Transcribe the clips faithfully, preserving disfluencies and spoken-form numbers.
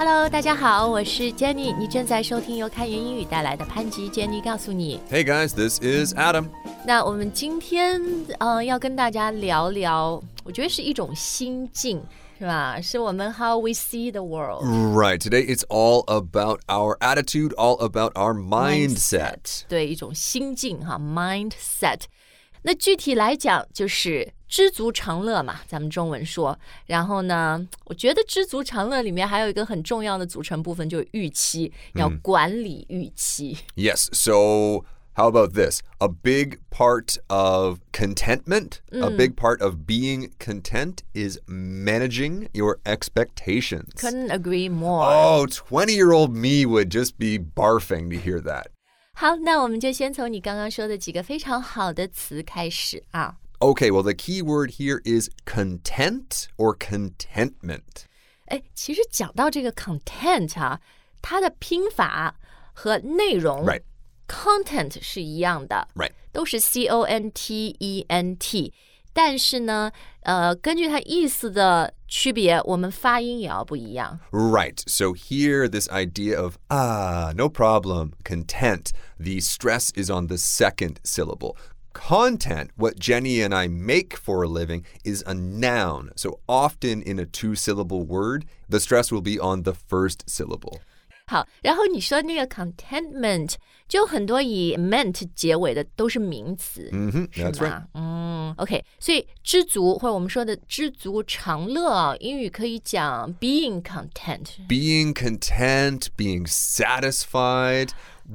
Hello， 大家好，我是 Jenny， 你正在收听由开言英语带来的潘吉 Jenny 告诉你。 Hey guys, this is Adam. 那我们今天呃要跟大家聊聊，我觉得是一种心境，是吧？是我们 how we see the world. Right, today it's all about our attitude, all about our mindset. 对，一种心境哈 mindset。那具体来讲就是知足常乐嘛，咱们中文说。然后呢，我觉得知足常乐里面还有一个很重要的组成部分，就是预期，要管理预期。 Yes, so how about this? A big part of contentment, a big part of being content is managing your expectations. Couldn't agree more. Oh, twenty-year-old me would just be barfing to hear that. 好，那我们就先从你刚刚说的几个非常好的词开始啊。 Okay, well, the key word here is content or contentment. 哎，其实讲到这个 content 啊，它的拼法和内容 Right. content 是一样的 Right. 都是 C O N T E N T， 但是呢，呃，根据它意思的区别，我们发音也要不一样。 Right. So here, this idea of, ah, no problem, content, the stress is on the second syllable. Content, what Jenny and I make for a living, is a noun. So often in a two-syllable word, the stress will be on the first syllable. 好，然后你说那个 contentment 就很多以 ment 结尾的都是名词， Mm-hmm, 是 that's 吗？ right. 嗯 OK， 所以知足或者我们说的知足常乐啊，英语可以讲 being content。 Being content, being satisfied.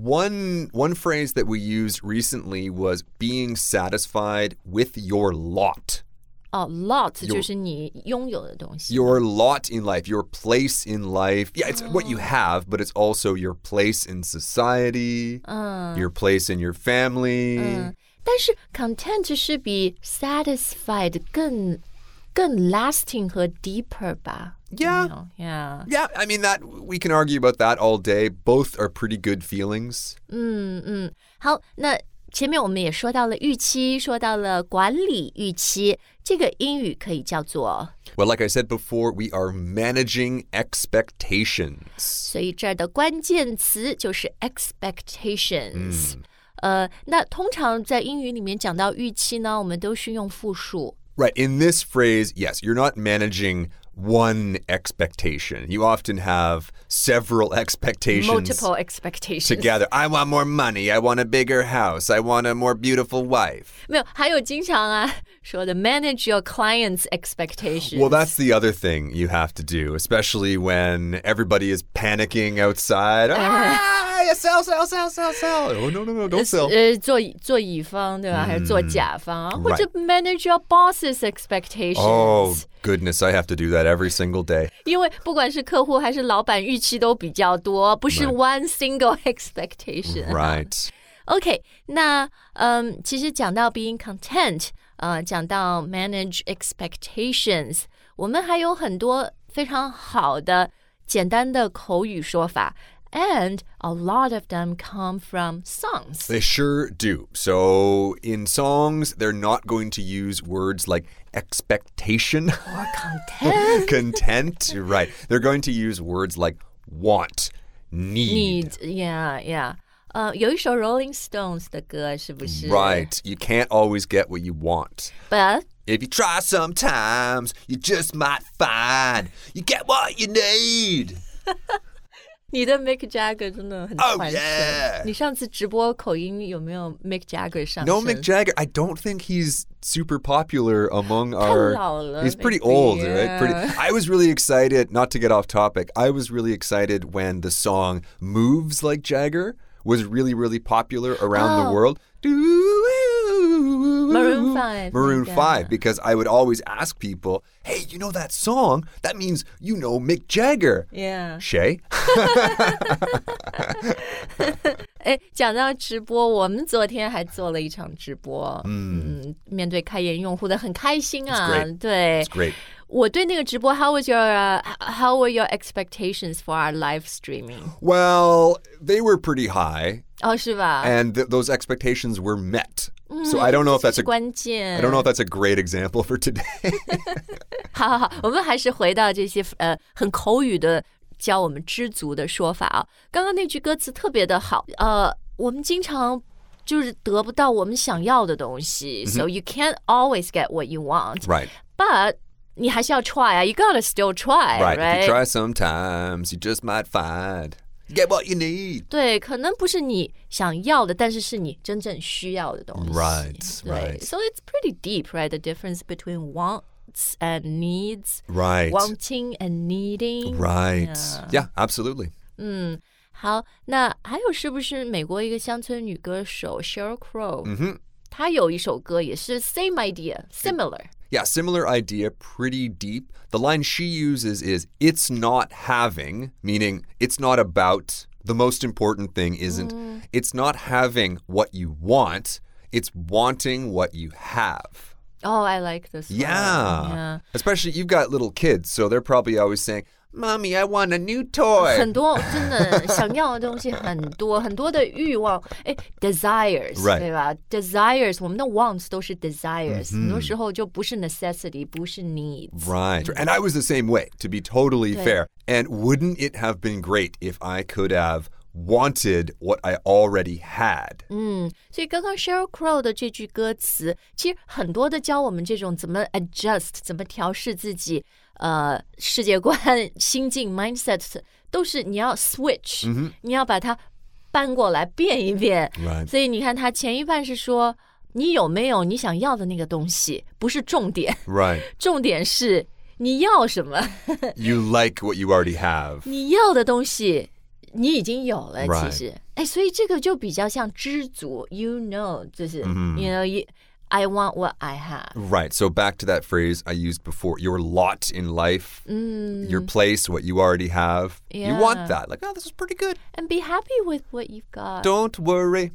One, one phrase that we used recently was being satisfied with your lot. 哦 lot 就是你拥有的东西。 Your lot in life, your place in life. Yeah, it's what you have, but it's also your place in society, your place in your family. 但是 content 是比 satisfied 更更 lasting 和 deeper 吧 Yeah. You know, yeah. Yeah, I mean, that we can argue about that all day. Both are pretty good feelings. 嗯嗯，好，那前面我们也说到了预期，说到了管理预期，这个英语可以叫做 Well, like I said before, we are managing expectations. 所以这儿的关键词就是 expectations。呃，那通常在英语里面讲到预期呢，我们都是用复数。 Right. In this phrase, yes, you're not managing one expectation. You often have several expectations Multiple expectations. together. I want more money. I want a bigger house. I want a more beautiful wife. 没有，还有经常啊说的 manage your clients' expectations. Well, that's the other thing you have to do, especially when everybody is panicking outside. Ah, sell, sell, sell, sell, sell. Oh, no, no, no, don't sell. 呃，做做乙方对吧？还是做甲方啊？或者 manage your boss's expectations. Oh, goodness, I have to do that every single day. 因为不管是客户还是老板预期都比较多，不是 one single expectation. Right. OK， 那嗯，其实讲到 being content， 呃，讲到 manage expectations， 我们还有很多非常好的简单的口语说法。And a lot of them come from songs. They sure do. So in songs, they're not going to use words like expectation or content. Content, right. They're going to use words like want, need. Need, yeah, yeah. 呃，有一首 Rolling Stones 的歌是不是 Right. You can't always get what you want. But If you try sometimes, you just might find you get what you need. 你的 Mick Jagger 真的很 Oh, 传神。 yeah. 你上次直播口音有没有 Mick Jagger 上身 No, Mick Jagger. I don't think he's super popular among 太 our... 老了 He's pretty maybe, old, yeah. right? Pretty. I was really excited, not to get off topic, I was really excited when the song Moves Like Jagger was really, really popular around Oh. the world. Maroon five. Maroon Yeah. five, because I would always ask people, hey, you know that song? That means you know Mick Jagger. Yeah. Shay? 哎，讲到直播，我们昨天还做了一场直播，嗯，面对开言用户的很开心啊， It's great. 对 It's great. 我对那个直播 ，How was your、uh, How were your expectations for our live streaming？ Well, they were pretty high, 哦，是吧？ and th- those expectations were met. So I don't know if 这 that's 是 a 关键。 I don't know if that's a great example for today. 好好好，我们还是回到这些呃很口语的教我们知足的说法啊。刚刚那句歌词特别的好，呃，我们经常就是得不到我们想要的东西、mm-hmm. So you can't always get what you want. Right. But 你还是要 try 啊 You gotta still try, right? right? If you try sometimes, you just might find.Get what you need. 对，可能不是你想要的，但是是你真正需要的东西。 Right, 对 right. So it's pretty deep, right? The difference between wants and needs. Right. Wanting and needing. Right. Yeah, yeah absolutely. 嗯，好，那还有是不是美国一个乡村女歌手 Sheryl Crow？ 嗯哼， 她有一首歌也是 same idea, similar.Yeah, similar idea, pretty deep. The line she uses is, it's not having, meaning it's not about, the most important thing isn't, mm. it's not having what you want, it's wanting what you have. Oh, I like this one. Yeah. yeah. Especially, you've got little kids, so they're probably always saying, Mommy, I want a new toy. 很多真的想要的东西很多，很多的欲望，哎 ，desires， right. 对吧 ？desires， 我们的 wants 都是 desires，、mm-hmm. 很多时候就不是 necessity， 不是 needs。 Right. And I was the same way, to be totally fair. And wouldn't it have been great if I could have wanted what I already had? 嗯，所以刚刚 Sheryl Crow 的这句歌词，其实很多的教我们这种怎么 adjust， 怎么调试自己。呃，世界观、心境 mindset 都是你要 switch、mm-hmm. 你要把它搬过来变一变。 Right. 所以你看，它前一半是说你有没有你想要的那个东西，不是重点。 Right. 重点是你要什么。 You like what you already have. 你要的东西你已经有了， Right. 其实，哎，所以这个就比较像知足。You know， 就是、mm-hmm. you know you.I want what I have. Right. So back to that phrase I used before, your lot in life, mm. your place, what you already have. Yeah. You want that. Like, oh, this is pretty good. And be happy with what you've got. Don't worry.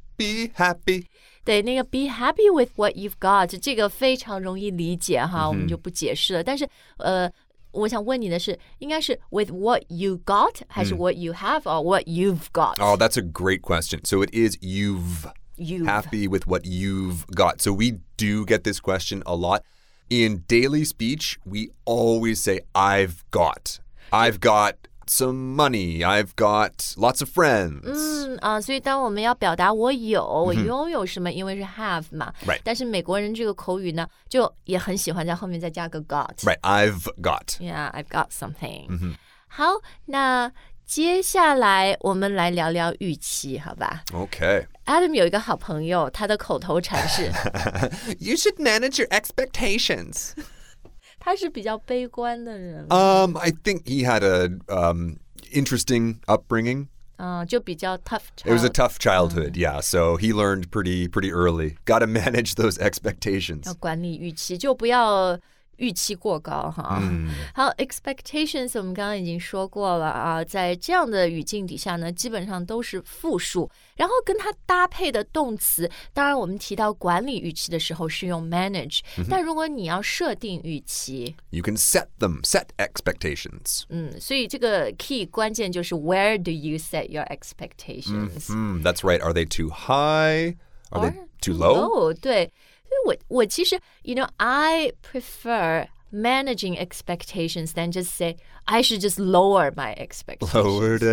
Be happy. 对，那个 be happy with what you've got 这个非常容易理解哈， mm-hmm. 我们就不解释了。但是呃，我想问你的是，应该是 with what you got 还是 what you have or what you've got? Oh, that's a great question. So it is you've.You've. Happy with what you've got. So we do get this question a lot. In daily speech, we always say, I've got. I've got some money. I've got lots of friends. 嗯啊，所以当我们要表达我有，我拥有什么，因为是 have 嘛。 Right. 但是美国人这个口语呢，就也很喜欢在后面再加个 got. Right. I've got. Yeah, I've got something. 嗯、 好，那接下来我们来聊聊预期，好吧 ？Okay.Adam 有一个好朋友，他的口头禅是 You should manage your expectations. 他是比较悲观的人。 Um, I think he had a um interesting upbringing. 嗯，就比较 tough child. It was a tough childhood, yeah. So he learned pretty pretty early. Got to manage those expectations. 要管理预期，就不要预期过高哈、嗯、好 expectations 我们刚刚已经说过了啊，在这样的语境底下呢，基本上都是复数，然后跟它搭配的动词，当然我们提到管理预期的时候是用 manage、嗯、但如果你要设定预期 You can set them, set expectations. 嗯，所以这个 key 关键就是 where do you set your expectations、 mm-hmm. That's right. Are they too high? Are Or they too low? low? 对，我我其实 you know I prefer managing expectations than just say I should just lower my expectations. Lowered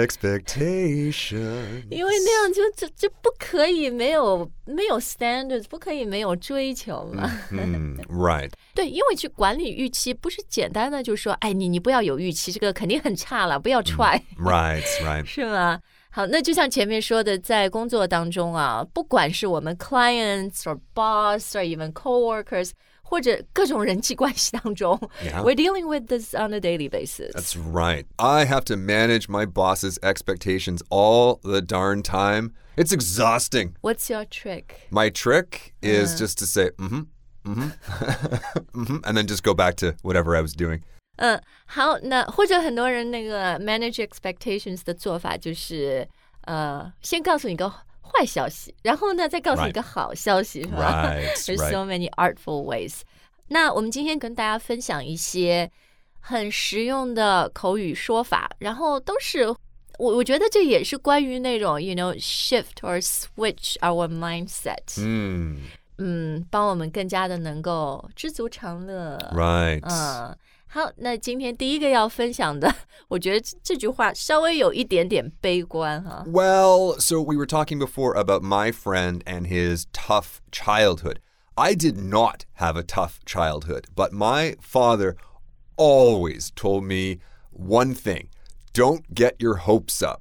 expectations. 因为那样就就就不可以没有没有 standards， 不可以没有追求嘛。 Mm, right. 对，因为去管理预期不是简单的就说，哎，你你不要有预期，这个肯定很差了，不要 try。 Right, right. 是吗？好，那就像前面说的，在工作当中啊，不管是我们 clients or boss or even coworkers， 或者各种人际关系当中 yeah. we're dealing with this on a daily basis. That's right. I have to manage my boss's expectations all the darn time. It's exhausting. What's your trick? My trick is uh. just to say, mm-hmm, mm-hmm, mm-hmm, and then just go back to whatever I was doing. 嗯，好，那或者很多人那个 manage expectations 的做法就是，呃，先告诉你个坏消息，然后呢再告诉你个好消息，是吧 Right, There's so many artful ways. 那我们今天跟大家分享一些很实用的口语说法，然后都是我我觉得这也是关于那种 you know shift or switch our mindset. 嗯嗯，帮我们更加的能够知足常乐。 Right. 嗯。 好，那今天第一个要分享的，我觉得这句话稍微有一点点悲观哈。 Well, so we were talking before about my friend and his tough childhood. I did not have a tough childhood, but my father always told me one thing. Don't get your hopes up.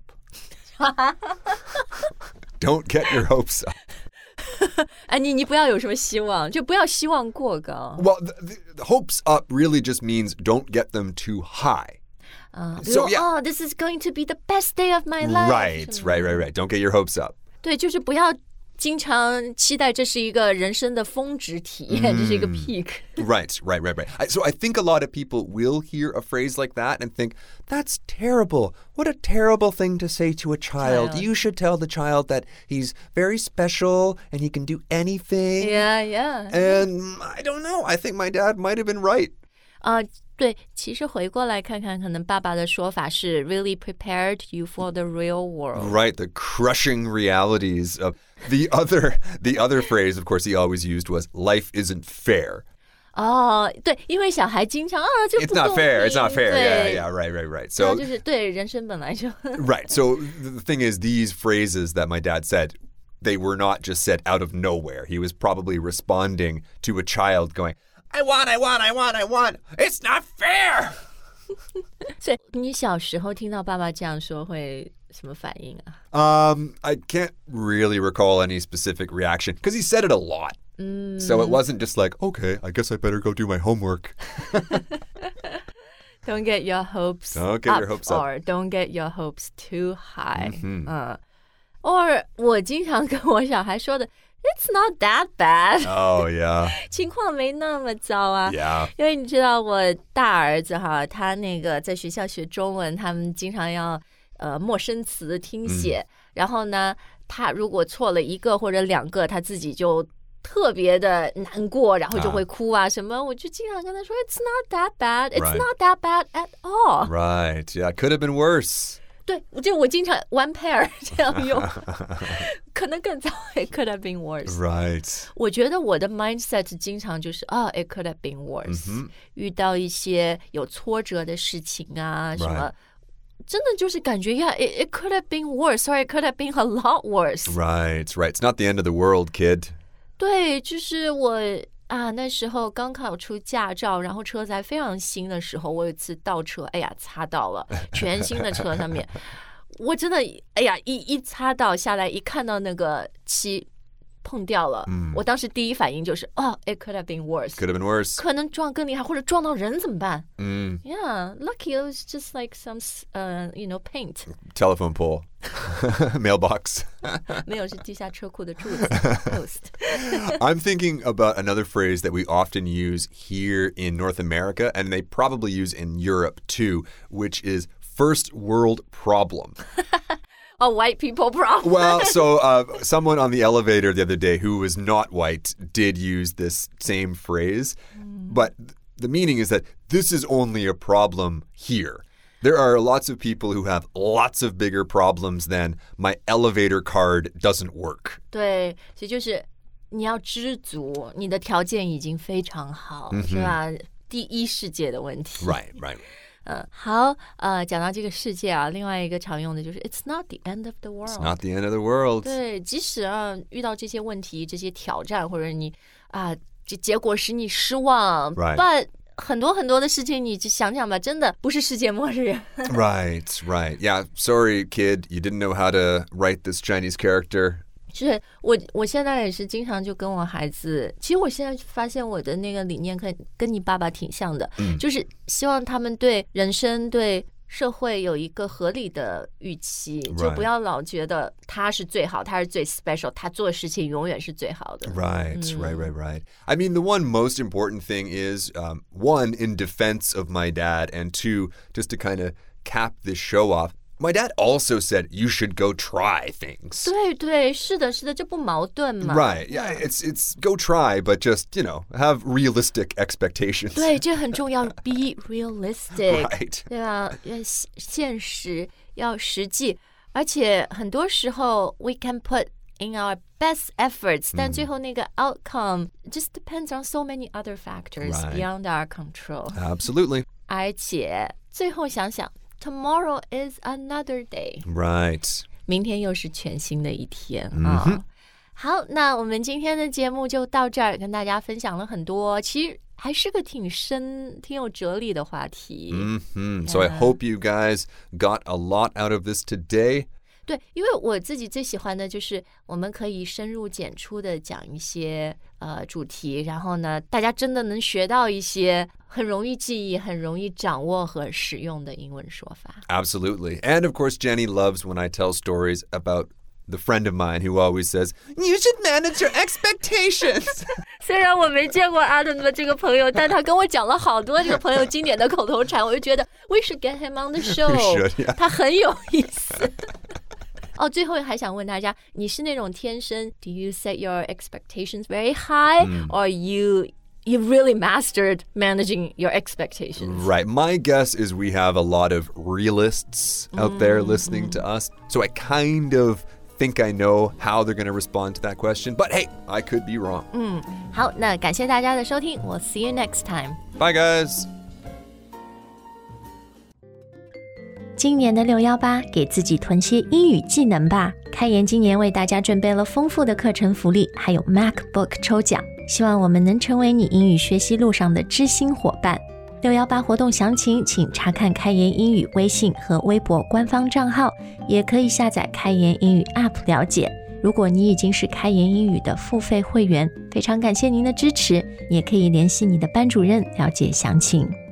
Don't get your hopes up. 哎，你你不要有什么希望，就不要希望过高。 Well, the, the hopes up really just means don't get them too high. Uh, So, yeah. Oh, this is going to be the best day of my life. Right, right, right, right. Don't get your hopes up. 对，就是不要经常期待这是一个人生的峰值体验，这是一个 peak. Right, right, right, right. I, so I think a lot of people will hear a phrase like that and think, that's terrible. What a terrible thing to say to a child. Child. You should tell the child that he's very special and he can do anything. Yeah, yeah. And I don't know. I think my dad might have been right. 啊、uh, 对，其实回过来看看，可能爸爸的说法是 really prepared you for the real world. Right, the crushing realities of the other the other phrase, of course, he always used was life isn't fair. 哦，对，因为小孩经常啊，这 It's 不 not 公 fair. 平 It's not fair. 对 Yeah, yeah, right, right, right. 然后 So 就是对人生本来就 right. So the thing is, these phrases that my dad said, they were not just said out of nowhere. He was probably responding to a child going, I want, I want, I want, I want. It's not fair. 所以你小时候听到爸爸这样说会什么反应啊？ Um, I can't really recall any specific reaction because he said it a lot. Mm. So it wasn't just like, okay, I guess I better go do my homework. Don't get your hopes Don't get up, your hopes up. or don't get your hopes too high. 嗯嗯 or 我经常跟我小孩说的 It's not that bad. Oh, yeah. 情况没那么糟啊。 Yeah. 因为你知道我大儿子哈，他那个在学校学中文，他们经常要呃陌生词听写， 嗯、 然后呢，他如果错了一个或者两个，他自己就特别的难过，然后就会哭啊什么。我就经常跟他说 ，It's not that bad. It's Right. not that bad at all. Right. Yeah. Could have been worse. 对，就我经常 one pair 这样用，可能更糟。It could have been worse. Right. 我觉得我的 mindset 经常就是啊、oh, it could have been worse、嗯、遇到一些有挫折的事情啊什么 Right. 真的就是感觉 yeah it, it could have been worse or it could have been a lot worse. Right, right. It's not the end of the world, kid. 对，就是我啊那时候刚考出驾照，然后车子还非常新的时候，我有一次倒车，哎呀擦到了，全新的车上面我真的哎呀一一擦到下来，一看到那个漆碰掉了、嗯、我当时第一反应就是哦、oh, it could have been worse. Could have been worse. 可能撞更厉害，或者撞到人怎么办？ 嗯 Yeah, lucky it was just like some, uh, you know, paint. Telephone pole. Mailbox. 没有，是地下车库的柱子 post. I'm thinking about another phrase that we often use here in North America, and they probably use in Europe too, which is first world problem. A white people problem. Well, so uh, someone on the elevator the other day who was not white did use this same phrase, mm. but the meaning is that this is only a problem here. There are lots of people who have lots of bigger problems than my elevator card doesn't work. 对，所以就是你要知足，你的条件已经非常好， Mm-hmm. 是吧？第一世界的问题。 Right, right. 嗯，好，呃，讲到这个世界啊，另外一个常用的就是 It's not the end of the world. It's not the end of the world. 对，即使啊遇到这些问题、这些挑战，或者你啊这结果使你失望 Right. ，but 很多很多的事情，你就想想吧，真的不是世界末日。 Right, right. Yeah, sorry, kid, you didn't know how to write this Chinese character. 是我，我现在也是经常就跟我孩子，其实我现在发现我的那个理念跟跟你爸爸挺像的， 嗯、 就是希望他们对人生、对社会有一个合理的预期， Right. 就不要老觉得他是最好，他是最 special， 他做的事情永远是最好的。 Right, 嗯、 right, right, right. I mean, the one most important thing is, um, one, in defense of my dad, and two, just to kind of cap this show off.My dad also said you should go try things. 对对，是的，是的，这不矛盾嘛。 Right, yeah, it's it's go try, but just, you know, have realistic expectations. 对，这很重要 ，be realistic， Right. 对吧？要现实，要实际，而且很多时候 we can put in our best efforts， 但最后那个 outcome just depends on so many other factors Right. beyond our control. Absolutely. 而且最后想想 tomorrow is another day. Right. 明天又是全新的一天、 嗯、 啊。好，那我们今天的节目就到这儿，跟大家分享了很多，其实还是个挺深、挺有哲理的话题。 Mm-hmm. So I hope you guys got a lot out of this today. 对，因为我自己最喜欢的就是我们可以深入浅出的讲一些呃主题，然后呢，大家真的能学到一些很容易记忆、很容易掌握和使用的英文说法。 Absolutely. And of course, Jenny loves when I tell stories about the friend of mine who always says, you should manage your expectations. 虽然我没见过 Adam 的这个朋友，但他跟我讲了好多这个朋友经典的口头禅，我就觉得 we should get him on the show. We should, yeah. 他很有意思。哦，最后还想问大家，你是那种天生 do you set your expectations very high、嗯、or you you really mastered managing your expectations? Right. My guess is we have a lot of realists out mm, there listening mm. to us. So I kind of think I know how they're going to respond to that question. But hey, I could be wrong. 嗯，好，那感谢大家的收听。We'll see you next time. Bye, guys. 今年的六一八，给自己囤些英语技能吧。开言今年为大家准备了丰富的课程福利，还有 MacBook 抽奖，希望我们能成为你英语学习路上的知心伙伴。六一八活动详情请查看开言英语微信和微博官方账号，也可以下载开言英语 App 了解。如果你已经是开言英语的付费会员，非常感谢您的支持，也可以联系你的班主任了解详情。